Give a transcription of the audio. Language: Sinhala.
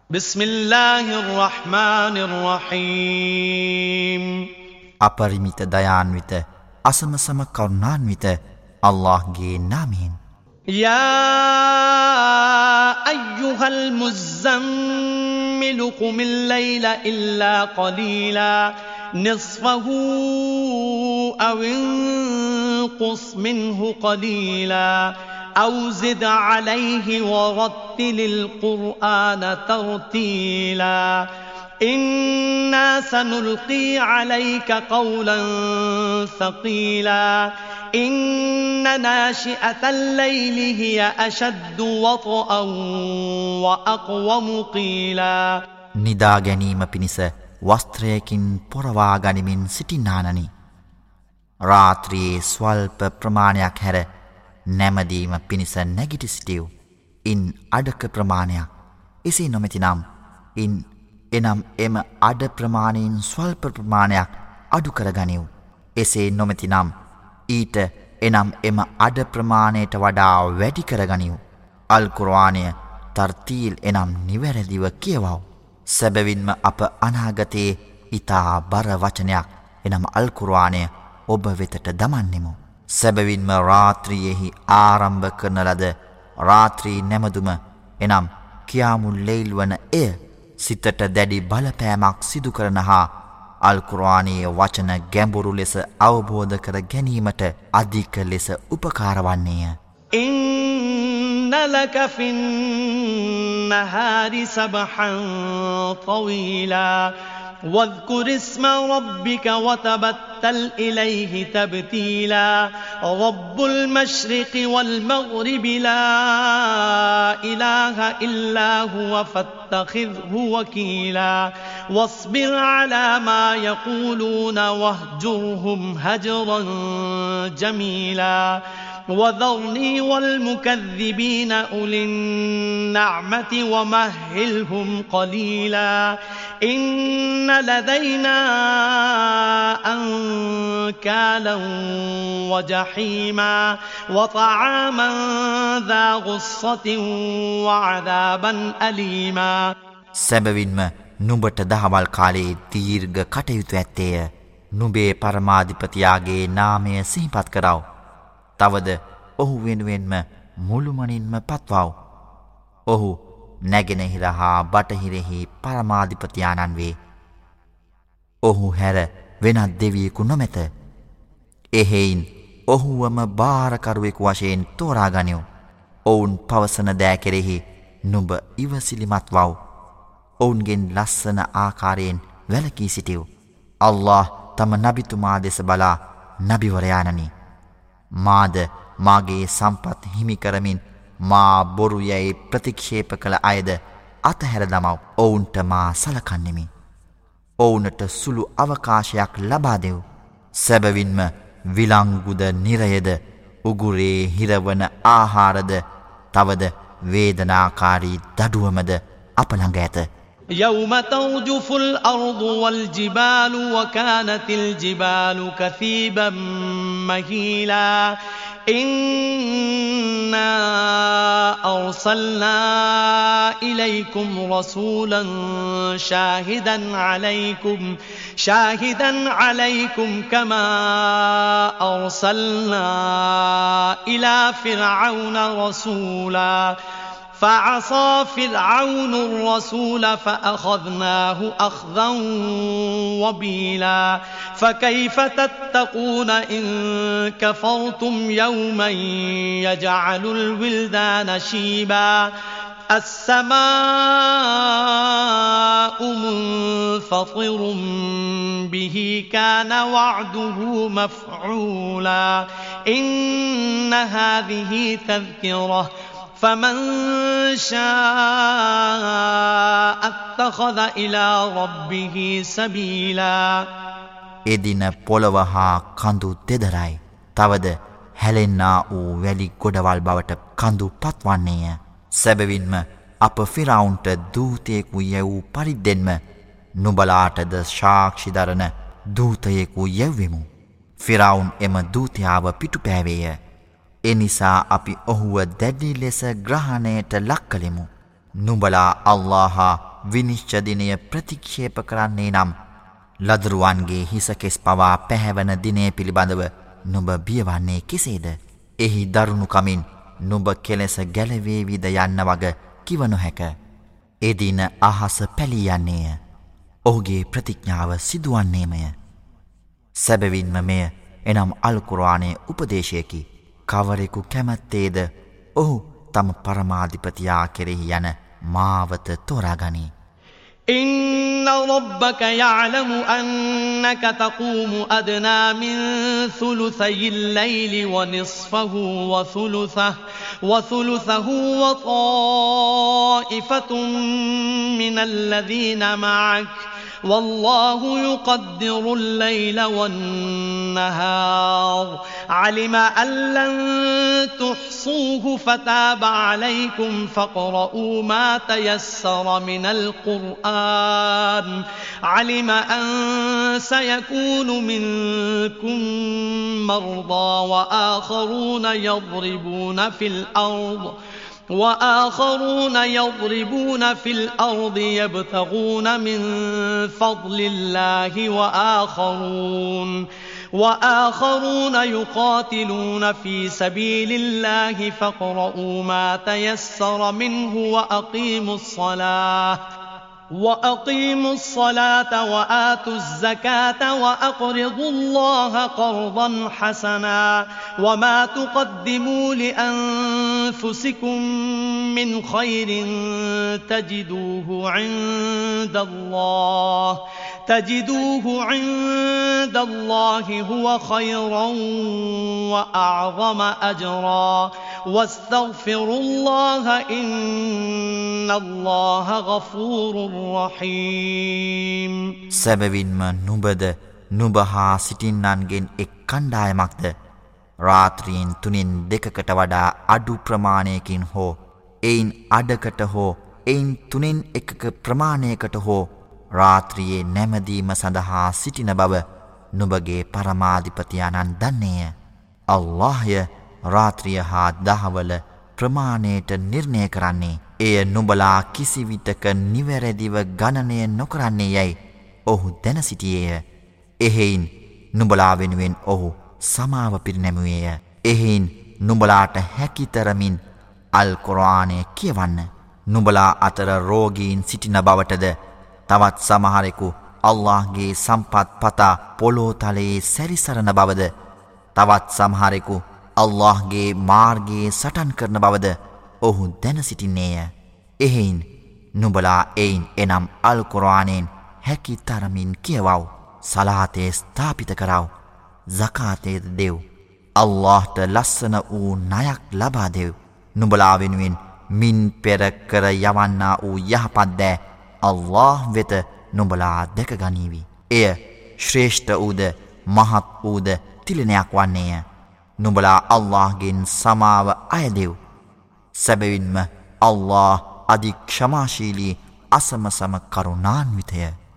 بسم الله الرحمن الرحيم අපරිමිත දයාන්විත අසමසම කරුණාන්විත අල්ලාහ්ගේ නාමයෙන් يا أيها المزمل قم الليل إلا قليلا نصفه أو انقص منه قليلا أو زد عليه ورتل القرآن ترتيلا إنا سنلقي عليك قولا ثقيلا إن ناشئة الليل هي أشد وطئا وأقوم قيلا නිදා ගැනීම පිණිස වස්ත්‍රයකින් පොරවා ගනිමින් සිටින්නානනි. රාත්‍රියේ ස්වල්ප ප්‍රමාණයක් හැර නැමදීම පිණිස නැගිට සිටියු. ඉන් අඩක ප්‍රමාණයක් එසේ නොමැතිනම් එනම් එම අඩ ප්‍රමාණයෙන් ස්වල්ප ප්‍රමාණයක් අඩු කරගනිව්. එසේ නොමැතිනම් ඊට එනම් එම අඩ ප්‍රමාණයට වඩා වැඩි කරගනිව්. අල් කුර්ආනය තර්තීල් එනම් නිවැරදිව කියවව්. සැබවින්ම අප අනාගතයේ ඉතා බර වචනයක් එනම් අල් කුර්ආනය ඔබ වෙතට දමන්නෙමු. සැබවින්ම රාත්‍රියෙහි ආරම්භ කරන ලද රාත්‍රී නැමදුම එනම් කියාමුල් ලෙයිල් වන එය සිතට දැඩි බලපෑමක් සිදු කරන හා අල් කුර්ආනයේ වචන ගැඹුරු ලෙස අවබෝධ කර ගැනීමට අධික ලෙස උපකාර වන්නේය. إن لك في النهار سبحا طويلا واذكر اسم ربك وتبتل إليه تبتيلا رب المشرق والمغرب لا إله إلا هو فاتخذه وكيلا واصبر على ما يقولون واهجرهم هجرا جميلا وذرني والمكذبين أولي النعمة ومهلهم قليلا إن لدينا أنكالا وجحيما وطعاما ذا غصة وعذابا أليما සැබවින්ම නුඹට දහවල් කාලයේ දීර්ඝ කටයුතු ඇත්තේය. නුඹේ පරමාධිපතියාගේ නාමය සිහිපත් කරව. තවද ඔහු වෙනුවෙන්ම මුළුමනින්ම පත්වව්. ඔහු නැගෙනහිර හා බටහිරෙහි පරමාධිපතියාණන් වේ. ඔහු හැර වෙනත් දෙවියෙකු නොමැත. එහෙයින් ඔහුවම භාරකරුවෙකු වශයෙන් තෝරාගනිව්. ඔවුන් පවසන දෑ කෙරෙහි නුඹ ඉවසිලිමත් වව්. ඔවුන්ගෙන් ලස්සන ආකාරයෙන් වැළකී සිටිව්. අල්ලාහ් තම නබිතුමා දෙස බලා නබිවරයාණනි, මාද මාගේ සම්පත් හිමි කරමින් මා බොරු යැයි ප්‍රතික්ෂේප කළ අයද අතහැර දමව්. ඔවුන්ට මා සලකන්නෙමි. ඔවුනට සුළු අවකාශයක් ලබා දෙව්. සැබවින්ම විලංගුද නිරයද උගුරේ හිරවන ආහාරද තවද වේදනාකාරී දඩුවමද අප ළඟ ඇත. يوم ترجف الأرض والجبال وكانت الجبال كثيبا مهيلا إنا أرسلنا إليكم رسولا شاهدا عليكم كما أرسلنا إلى فرعون رسولا فعصى فرعون الرسول فأخذناه أخذا وبيلا فكيف تتقون إن كفرتم يوما يجعل الولدان شيبا السماء منفطر به كان وعده مفعولا إن هذه تذكرة فمن شاء اتخذ إلى ربه سبيلا එදින පොළව හා කඳු දෙදරයි. තවද හැලෙන්නා වූ වැලි ගොඩවල් බවට කඳු පත්වන්නේය. සැබවින්ම අප ෆිරාවුන්ට දූතයෙකු යැවූ පරිද්දෙන්ම නුඹලාටද සාක්ෂි දරන දූතයෙකු යැව්වෙමු. ෆිරාවුන් එම දූතයාව පිටුපෑවේය. එනිසා අපි ඔහුව දැඩි ලෙස ග්‍රහණයට ලක් කළෙමු. නුඹලා අල්ලාහ විනිශ්චය දිනය ප්‍රතික්ෂේප කරන්නේ නම් ලදරුවන්ගේ හිසකෙස් පවා පැහැවෙන දිනය පිළිබඳව නුඹ බියවන්නේ කෙසේද? එහි දරුණු කමින් නුඹ කෙලෙස ගැලවේවිද යන්න වග කිව නොහැක. එදින අහස පැලී යන්නේය. ඔහුගේ ප්‍රතිඥාව සිදුවන්නේමය. සැබවින්ම මෙය එනම් අල් කුර්ආනයේ උපදේශයකි. කවරෙකු කැමැත්තේද ඔහු තම පරමාධිපතියා කෙරෙහි යන මාවත තෝරාගනී. إن ربك يعلم أنك تقوم أدنى من ثلثي الليل ونصفه وثلثه وطائفة من الذين معك والله يقدر الليل والنهار علم أن لن تحصوه فتاب عليكم فاقرؤوا ما تيسر من القرآن علم أن سيكون منكم مرضى وآخرون يضربون في الأرض يبتغون من فضل الله وآخرون يقاتلون في سبيل الله فاقرؤوا ما تيسر منه وأقيموا الصلاة وآتوا الزكاة وأقرضوا الله قرضا حسنا وما تقدموا لأنفسكم من خير تجدوه عند الله هو خيرا وأعظم أجرا واستغفروا الله إن الله غفور රහීම්. සැබවින්ම නුඹද නුඹ හා සිටින්නන්ගෙන් එක් කණ්ඩායමක්ද රාත්‍රියෙන් 3/2කට වඩා අඩු ප්‍රමාණයකින් හෝ එයින් අඩකට හෝ එයින් 3/1ක ප්‍රමාණයකට හෝ රාත්‍රියේ නැමදීම සඳහා සිටින බව නුඹගේ පරමාධිපතියාණන් දන්නේය. අල්ලාහ්ය රාත්‍රිය හා දහවල ප්‍රමාණයට නිර්ණය කරන්නේ. එය නුඹලා කිසිවිටක නිවැරදිව ගණනය නොකරන්නේ යැයි ඔහු දැන සිටියේය. එහෙයින් නුඹලා වෙනුවෙන් ඔහු සමාව පිරිනැමුවේය. එහෙයින් නුඹලාට හැකිතරමින් අල් කුර්ආනය කියවන්න. නුඹලා අතර රෝගීන් සිටින බවටද තවත් සමහරෙකු අල්ලාහ්ගේ සම්පත් පතා පොළොව තලයේ සැරිසරන බවද තවත් සමහරෙකු අල්ලාහ්ගේ මාර්ගයේ සටන් කරන බවද ඔහු දැන සිටින්නේය. එහෙයින් නුඹලා එයින් එනම් අල් කුර්ආනයෙන් හැකි තරමින් කියවව්. සලාතේ ස්ථාපිත කරව. සකාතේ දෙව්. අල්ලාහ්ට ලස්සන වූ ණයක් ලබා දෙව්. නුඹලා වෙනුවෙන් මින් පෙර කර යවන්නා වූ යහපත් දෑ අල්ලාහ් වෙත නුඹලා දැක ගනීවි. එය ශ්‍රේෂ්ඨ වූද මහත් වූද තිලනයක් වන්නේය. නුඹලා අල්ලාහ්ගෙන් සමාව අයදෙව්. සැබවින්ම අල්ලාහ් අධි ක්ෂමාශීලී අසමසම කරුණාන්විතය.